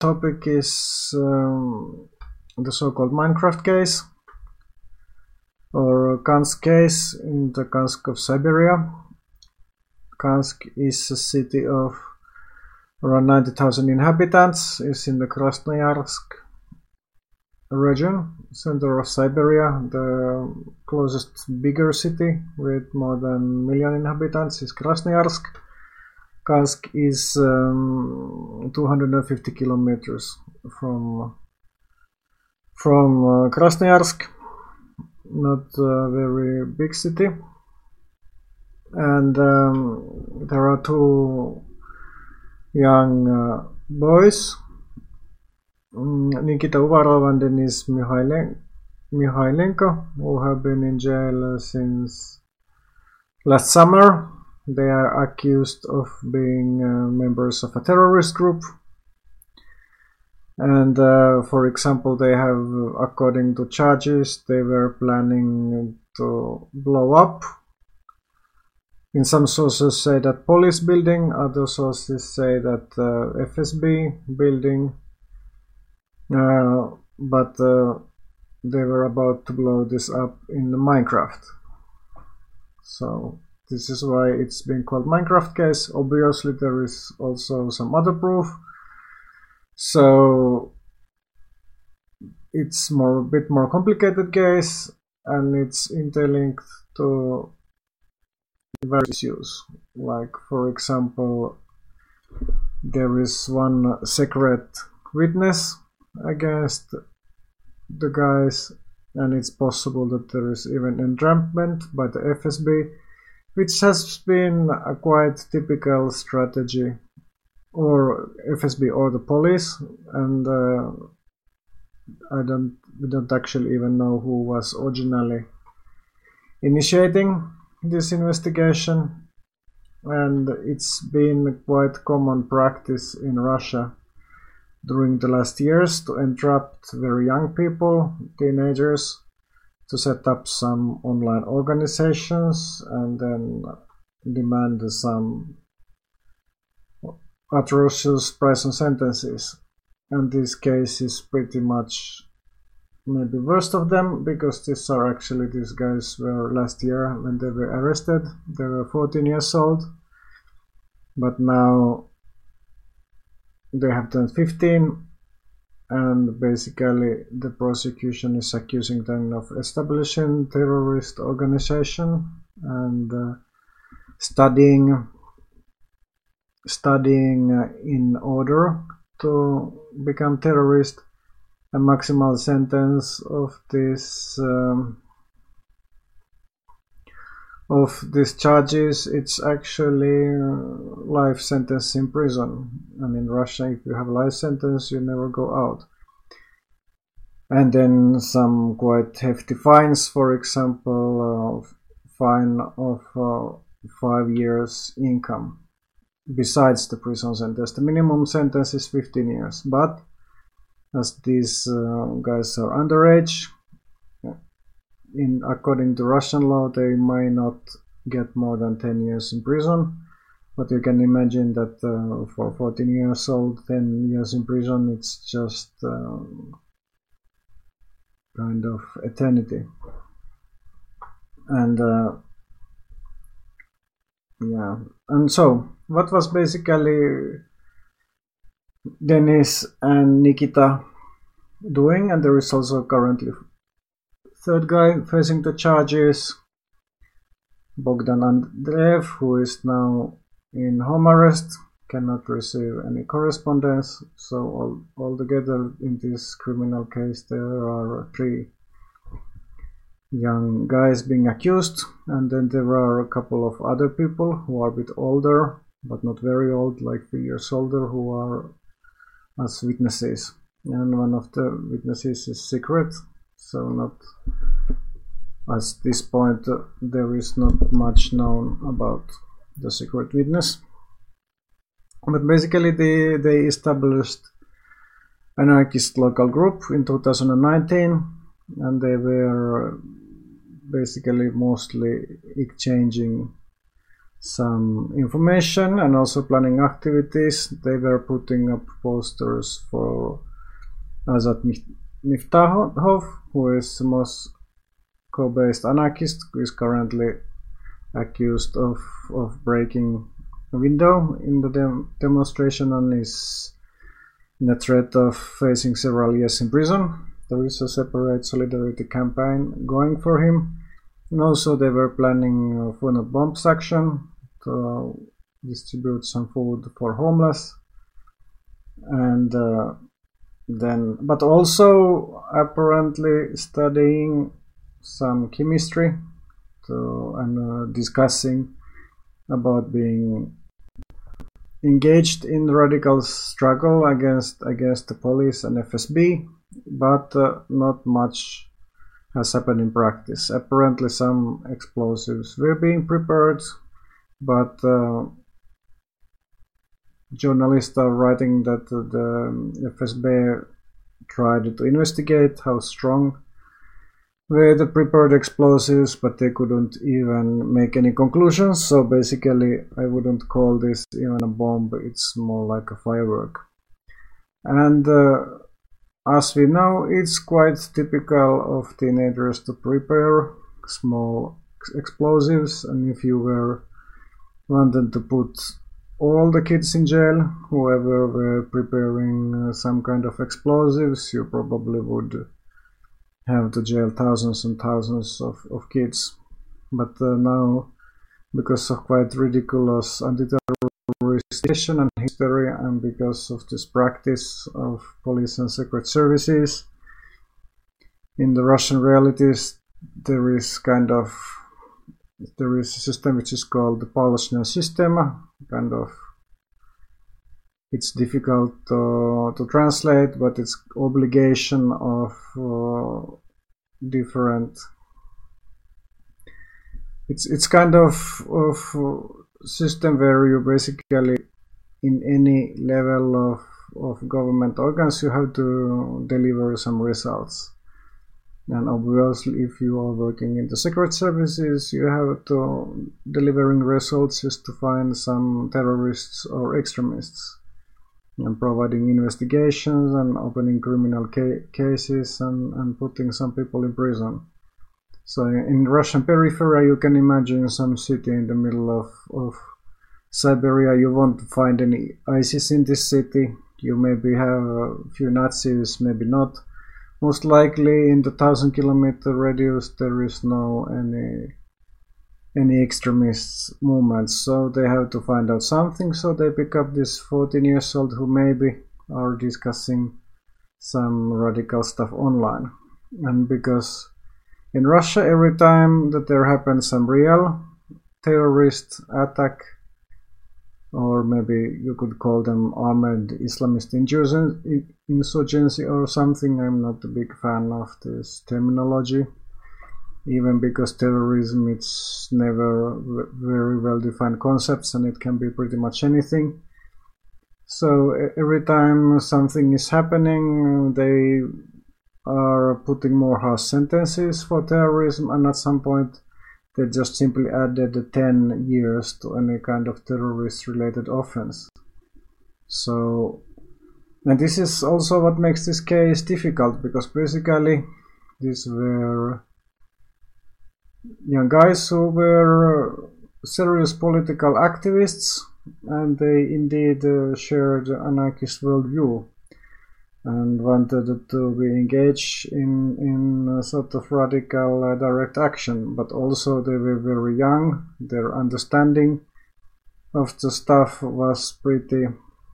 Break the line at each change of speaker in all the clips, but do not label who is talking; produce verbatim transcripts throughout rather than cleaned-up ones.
topic is um, the so-called Minecraft case, or Kansk case in the Kansk of Siberia. Kansk is a city of around ninety thousand inhabitants, is in the Krasnoyarsk region, center of Siberia. The closest bigger city with more than a million inhabitants is Krasnoyarsk. Kansk is um, two hundred fifty kilometers from from uh, Krasnoyarsk, not a very big city. And um, there are two young uh, boys, Nikita Uvarov and Denis Mikhailenko, who have been in jail since last summer. They are accused of being uh, members of a terrorist group. And uh, for example, they have, according to charges, they were planning to blow up. In some sources say that police building, other sources say that uh, F S B building, uh, but uh, they were about to blow this up in Minecraft. So this is why it's been called Minecraft case. Obviously there is also some other proof, so it's more a bit more complicated case, and it's interlinked to various issues. Like, for example, there is one secret witness against the guys, and it's possible that there is even entrapment by the F S B, which has been a quite typical strategy, or F S B or the police. And uh, I don't we don't actually even know who was originally initiating this investigation, and it's been quite common practice in Russia during the last years to entrap very young people, teenagers, to set up some online organizations and then demand some atrocious prison sentences. And this case is pretty much maybe worst of them, because these are actually, these guys were last year when they were arrested, they were fourteen years old, but now they have turned fifteen, and basically the prosecution is accusing them of establishing terrorist organization and uh, studying studying uh, in order to become terrorist. A maximal sentence of this um, of these charges, it's actually uh, life sentence in prison. And in Russia, if you have a life sentence, you never go out. And then some quite hefty fines, for example, uh, fine of uh, five years income besides the prison sentence. The minimum sentence is fifteen years, but as these uh, guys are underage, in according to Russian law, they may not get more than ten years in prison. But you can imagine that uh, for fourteen years old, ten years in prison, it's just uh, kind of eternity. And uh, yeah, and so what was basically Denis and Nikita doing? And there is also currently third guy facing the charges, Bogdan Andreev, who is now in home arrest, cannot receive any correspondence. So all, altogether in this criminal case there are three young guys being accused, and then there are a couple of other people who are a bit older, but not very old, like three years older, who are as witnesses. And one of the witnesses is secret, so not at this point uh, there is not much known about the secret witness. But basically they, they established an anarchist local group in two thousand nineteen, and they were basically mostly exchanging some information and also planning activities. They were putting up posters for Azat Miftahov, who is the Moscow-based anarchist, who is currently accused of, of breaking a window in the dem demonstration and is in a threat of facing several years in prison. There is a separate solidarity campaign going for him. And also they were planning a Food Not Bombs action to distribute some food for homeless. And uh, then, but also apparently studying some chemistry to, and uh, discussing about being engaged in radical struggle against against the police and F S B, but uh, not much has happened in practice. Apparently some explosives were being prepared, but uh, journalists are writing that the F S B tried to investigate how strong were the prepared explosives, but they couldn't even make any conclusions. So basically I wouldn't call this even a bomb, it's more like a firework. And uh, as we know, it's quite typical of teenagers to prepare small explosives, and if you were wanted to put all the kids in jail, whoever were preparing uh, some kind of explosives, you probably would have to jail thousands and thousands of, of kids. But uh, now, because of quite ridiculous anti-terrorist and history, and because of this practice of police and secret services, in the Russian realities there is kind of there is a system which is called the Palachная система. Kind of, it's difficult uh, to translate, but it's obligation of uh, different. It's it's kind of of system where you basically, in any level of of government organs, you have to deliver some results. And obviously, if you are working in the secret services, you have to delivering results is to find some terrorists or extremists, and providing investigations and opening criminal ca cases and, and putting some people in prison. So in Russian periphery, you can imagine some city in the middle of, of Siberia. You won't find any ISIS in this city. You maybe have a few Nazis, maybe not. Most likely in the thousand kilometer radius there is no any any extremist movements, so they have to find out something. So they pick up this fourteen years old who maybe are discussing some radical stuff online. And because in Russia every time that there happens some real terrorist attack, or maybe you could call them armed Islamist insurgency or something. I'm not a big fan of this terminology, even because terrorism, it's never very well defined concepts and it can be pretty much anything. So every time something is happening, they are putting more harsh sentences for terrorism, and at some point they just simply added ten years to any kind of terrorist related offense. So, and this is also what makes this case difficult, because basically these were young guys who were serious political activists, and they indeed uh, shared anarchist worldview and wanted to be engaged in, in a sort of radical uh, direct action, but also they were very young. Their understanding of the stuff was pretty,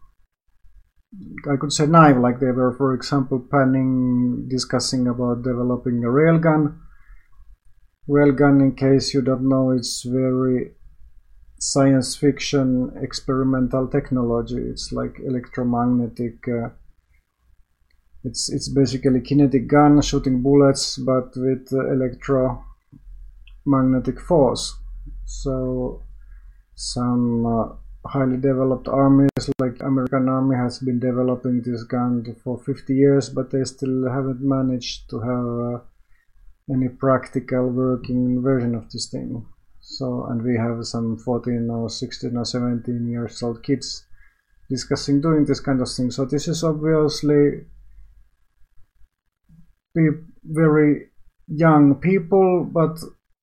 I could say, naive. Like they were, for example, planning, discussing about developing a railgun. Railgun, in case you don't know, it's very science fiction experimental technology. It's like electromagnetic uh, It's, it's basically kinetic gun shooting bullets, but with uh, electromagnetic force. So some uh, highly developed armies, like American army, has been developing this gun for fifty years, but they still haven't managed to have uh, any practical working version of this thing. So, and we have some fourteen or sixteen or seventeen years old kids discussing doing this kind of thing. So this is obviously very young people, but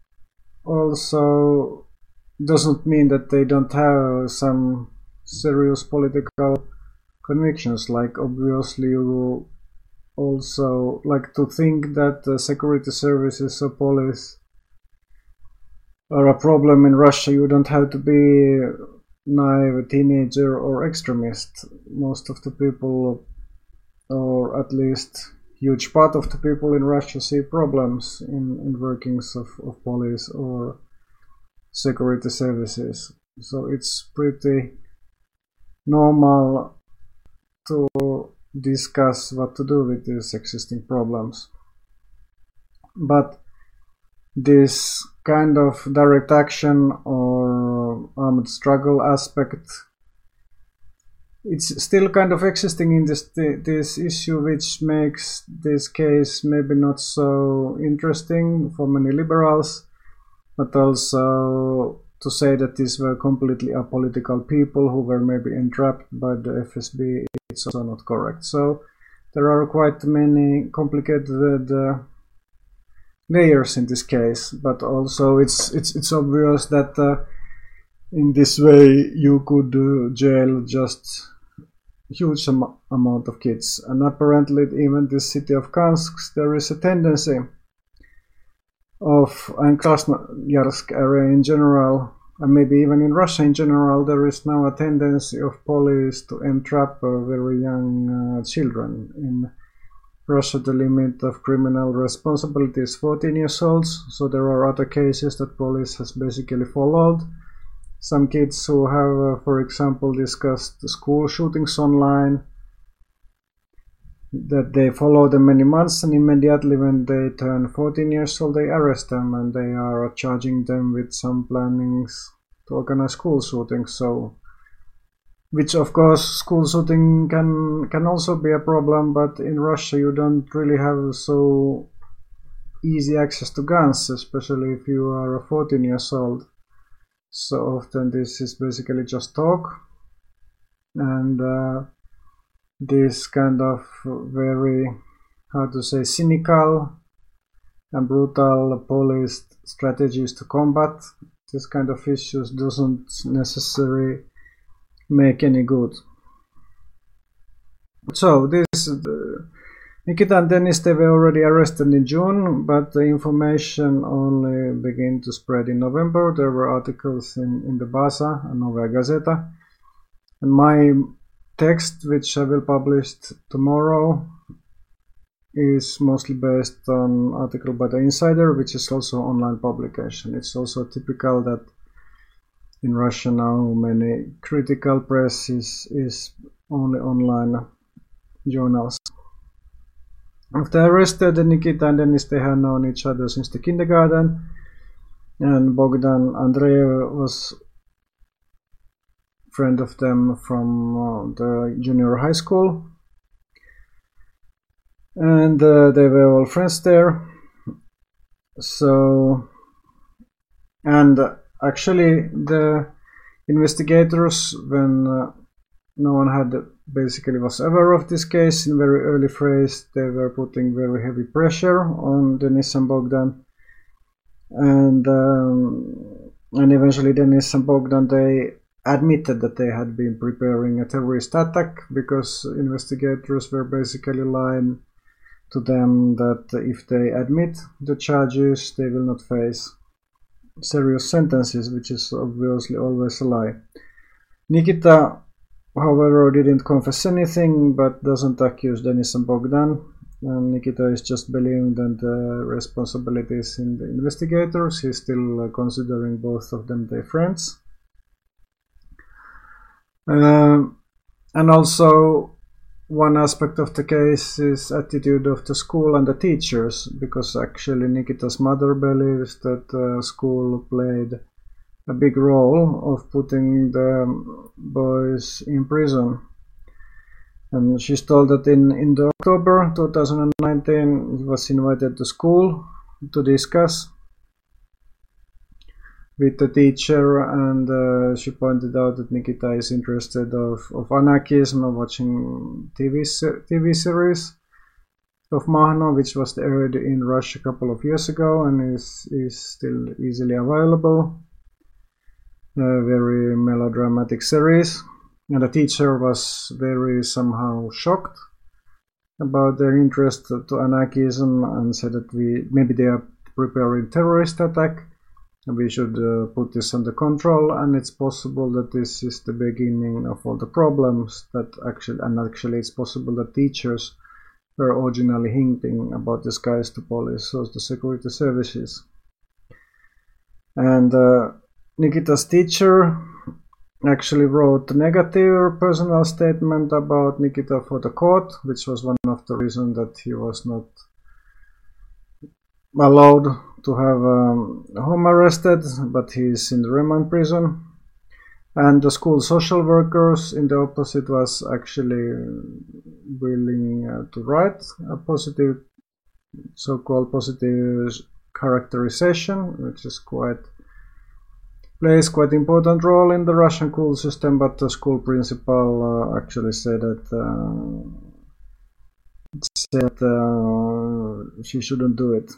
also doesn't mean that they don't have some serious political convictions. Like, obviously you also like to think that the security services or police are a problem in Russia. You don't have to be naive teenager or extremist. Most of the people, or at least huge part of the people in Russia, see problems in, in workings of, of police or security services. So it's pretty normal to discuss what to do with these existing problems. But this kind of direct action or armed struggle aspect, it's still kind of existing in this this issue, which makes this case maybe not so interesting for many liberals, but also to say that these were completely apolitical people who were maybe entrapped by the F S B, it's also not correct. So there are quite many complicated uh, layers in this case, but also it's it's it's obvious that uh, in this way you could uh, jail just huge am amount of kids. And apparently even this city of Kansk, there is a tendency of, and Krasnoyarsk area in general, and maybe even in Russia in general, there is now a tendency of police to entrap uh, very young uh, children. In Russia, the limit of criminal responsibility is fourteen years old, so there are other cases that police has basically followed. Some kids who have, uh, for example, discussed school shootings online, that they follow them many months, and immediately when they turn fourteen years old, they arrest them and they are charging them with some plannings to organize school shootings. So, which of course school shooting can can also be a problem, but in Russia you don't really have so easy access to guns, especially if you are fourteen years old. So often this is basically just talk, and uh, this kind of very, how to say, cynical and brutal police strategies to combat this kind of issues doesn't necessarily make any good. So this uh, Nikita and Denis, they were already arrested in June, but the information only began to spread in November. There were articles in, in the Baza and Novaya Gazeta. And my text, which I will publish tomorrow, is mostly based on article by the Insider, which is also online publication. It's also typical that in Russia now many critical press is, is only online journals. After arrested, Nikita and Denis, they have known each other since the kindergarten, and Bogdan Andreev was a friend of them from uh, the junior high school, and uh, they were all friends there. So, and uh, actually the investigators, when uh, no one had basically was aware of this case in very early phase, they were putting very heavy pressure on Denis and Bogdan, and um, and eventually Denis and Bogdan, they admitted that they had been preparing a terrorist attack, because investigators were basically lying to them that if they admit the charges, they will not face serious sentences, which is obviously always a lie. Nikita, however, didn't confess anything, but doesn't accuse Denis and Bogdan. And Nikita is just believing that the responsibility is in the investigators. He's still considering both of them their friends. Uh, and also, one aspect of the case is attitude of the school and the teachers, because actually Nikita's mother believes that the school played a big role of putting the boys in prison. And she's told that in, in the October two thousand nineteen he was invited to school to discuss with the teacher, and uh, she pointed out that Nikita is interested of, of anarchism, of watching T V T V series of Mahno, which was aired in Russia a couple of years ago and is is still easily available. A very melodramatic series, and the teacher was very somehow shocked about their interest to anarchism and said that we maybe they are preparing terrorist attack. We should uh, put this under control, and it's possible that this is the beginning of all the problems that actually, and actually it's possible that teachers were originally hinting about this guys to police or the security services. And uh, Nikita's teacher actually wrote a negative personal statement about Nikita for the court, which was one of the reasons that he was not allowed to have um, home arrested, but he is in the remand prison. And the school social workers in the opposite was actually willing uh, to write a positive, so-called positive characterization, which is quite plays quite important role in the Russian school system, but the school principal uh, actually said that uh, said uh, she shouldn't do it.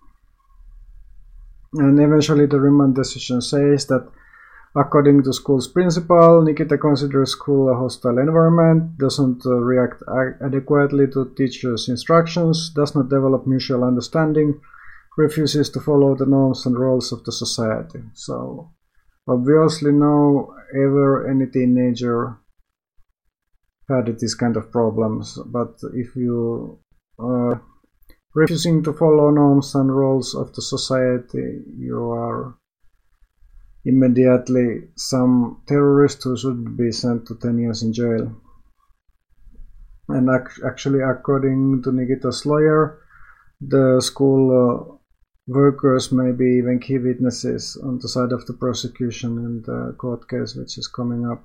And eventually the remand decision says that according to school's principal, Nikita considers school a hostile environment, doesn't uh, react adequately to teachers' instructions, does not develop mutual understanding, refuses to follow the norms and roles of the society. So obviously no ever any teenager had these kind of problems, but if you are refusing to follow norms and roles of the society, you are immediately some terrorist who should be sent to ten years in jail. And ac actually, according to Nikita's lawyer, the school uh, workers maybe even key witnesses on the side of the prosecution in the court case which is coming up.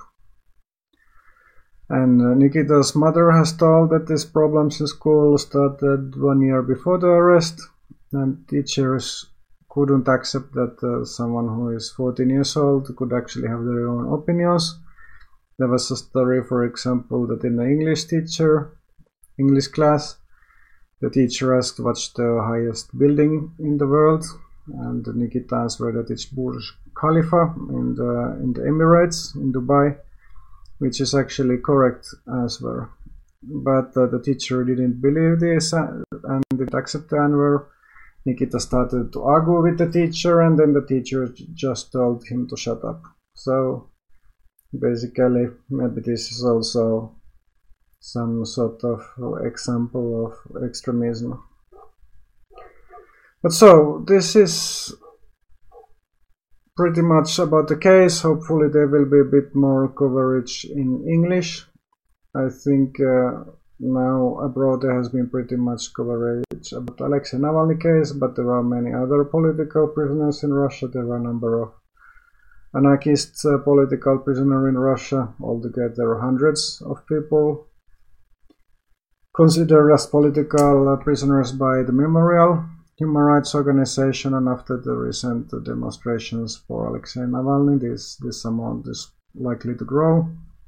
And uh, Nikita's mother has told that these problems in school started one year before the arrest, and teachers couldn't accept that uh, someone who is fourteen years old could actually have their own opinions. There was a story, for example, that in the English teacher, English class, the teacher asked what's the highest building in the world, and Nikita answered that it's Burj Khalifa in the, in the Emirates, in Dubai, which is actually correct answer. But uh, the teacher didn't believe this and didn't accept the answer. Nikita started to argue with the teacher, and then the teacher just told him to shut up. So basically, maybe this is also some sort of example of extremism. But so, this is pretty much about the case. Hopefully there will be a bit more coverage in English. I think uh, now abroad there has been pretty much coverage about Alexei Navalny case, but there are many other political prisoners in Russia. There are a number of anarchist uh, political prisoners in Russia, altogether hundreds of people considered as political uh, prisoners by the Memorial Human Rights Organization, and after the recent uh, demonstrations for Alexei Navalny, this, this amount is likely to grow.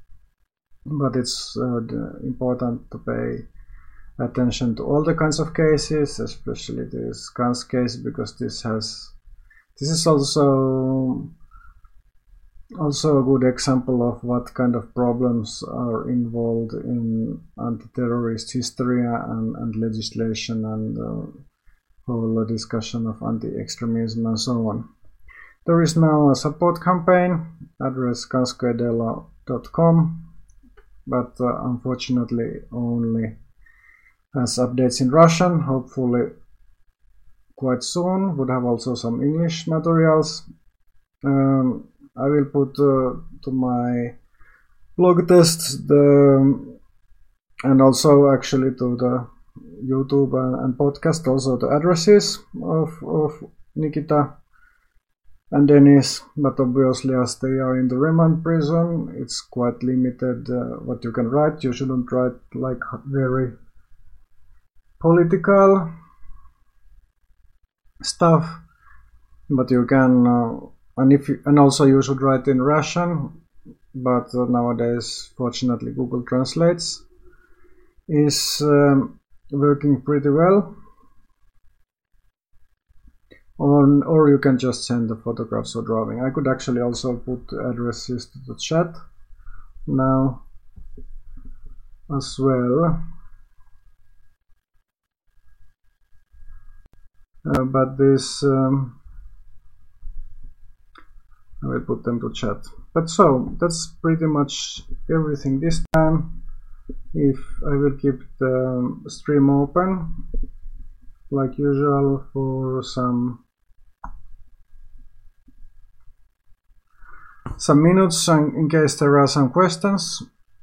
But it's uh, important to pay attention to all the kinds of cases, especially this Gans case, because this has this is also also a good example of what kind of problems are involved in anti-terrorist hysteria and, and legislation and uh, whole discussion of anti-extremism and so on. There is now a support campaign, address ganskoedelo dot com, but uh, unfortunately only has updates in Russian. Hopefully quite soon would have also some English materials. Um, I will put uh, to my blog tests the and also actually to the YouTube and, and podcast also the addresses of, of Nikita and Denis, but obviously as they are in the remand prison, it's quite limited uh, what you can write. You shouldn't write like very political stuff, but you can uh, and if you, and also you should write in Russian, but uh, nowadays fortunately Google Translates is um, working pretty well. Or, or you can just send the photographs or drawing. I could actually also put addresses to the chat now as well. Uh, but this um, I will put them to chat. But so that's pretty much everything this time. If I will keep the stream open like usual for some some minutes in case there are some questions.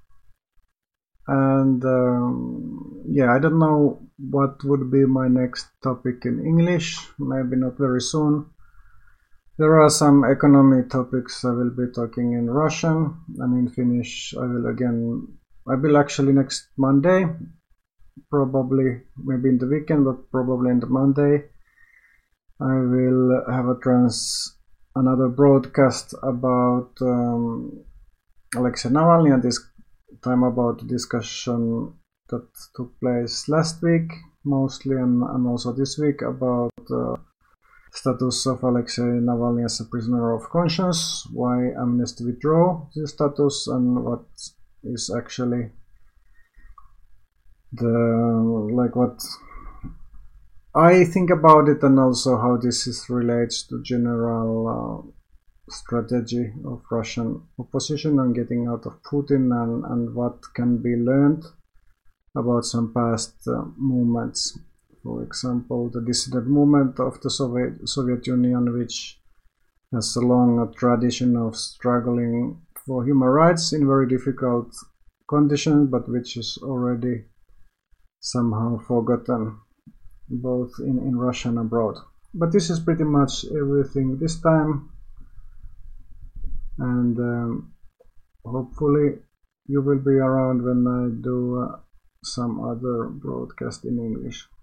And um, yeah, I don't know what would be my next topic in English, maybe not very soon. There are some economy topics I will be talking in Russian, and in Finnish I will again, I will actually next Monday, probably maybe in the weekend, but probably in the Monday, I will have a trans another broadcast about um, Alexei Navalny, and this time about the discussion that took place last week mostly, and, and also this week about uh, status of Alexei Navalny as a prisoner of conscience, why Amnesty withdraw this status, and what is actually the like what I think about it, and also how this is relates to general uh, strategy of Russian opposition on getting out of Putin, and, and what can be learned about some past uh, movements. For example, the dissident movement of the Soviet, Soviet Union, which has a long tradition of struggling for human rights in very difficult conditions, but which is already somehow forgotten both in, in Russia and abroad. But this is pretty much everything this time, and um, hopefully you will be around when I do uh, some other broadcast in English.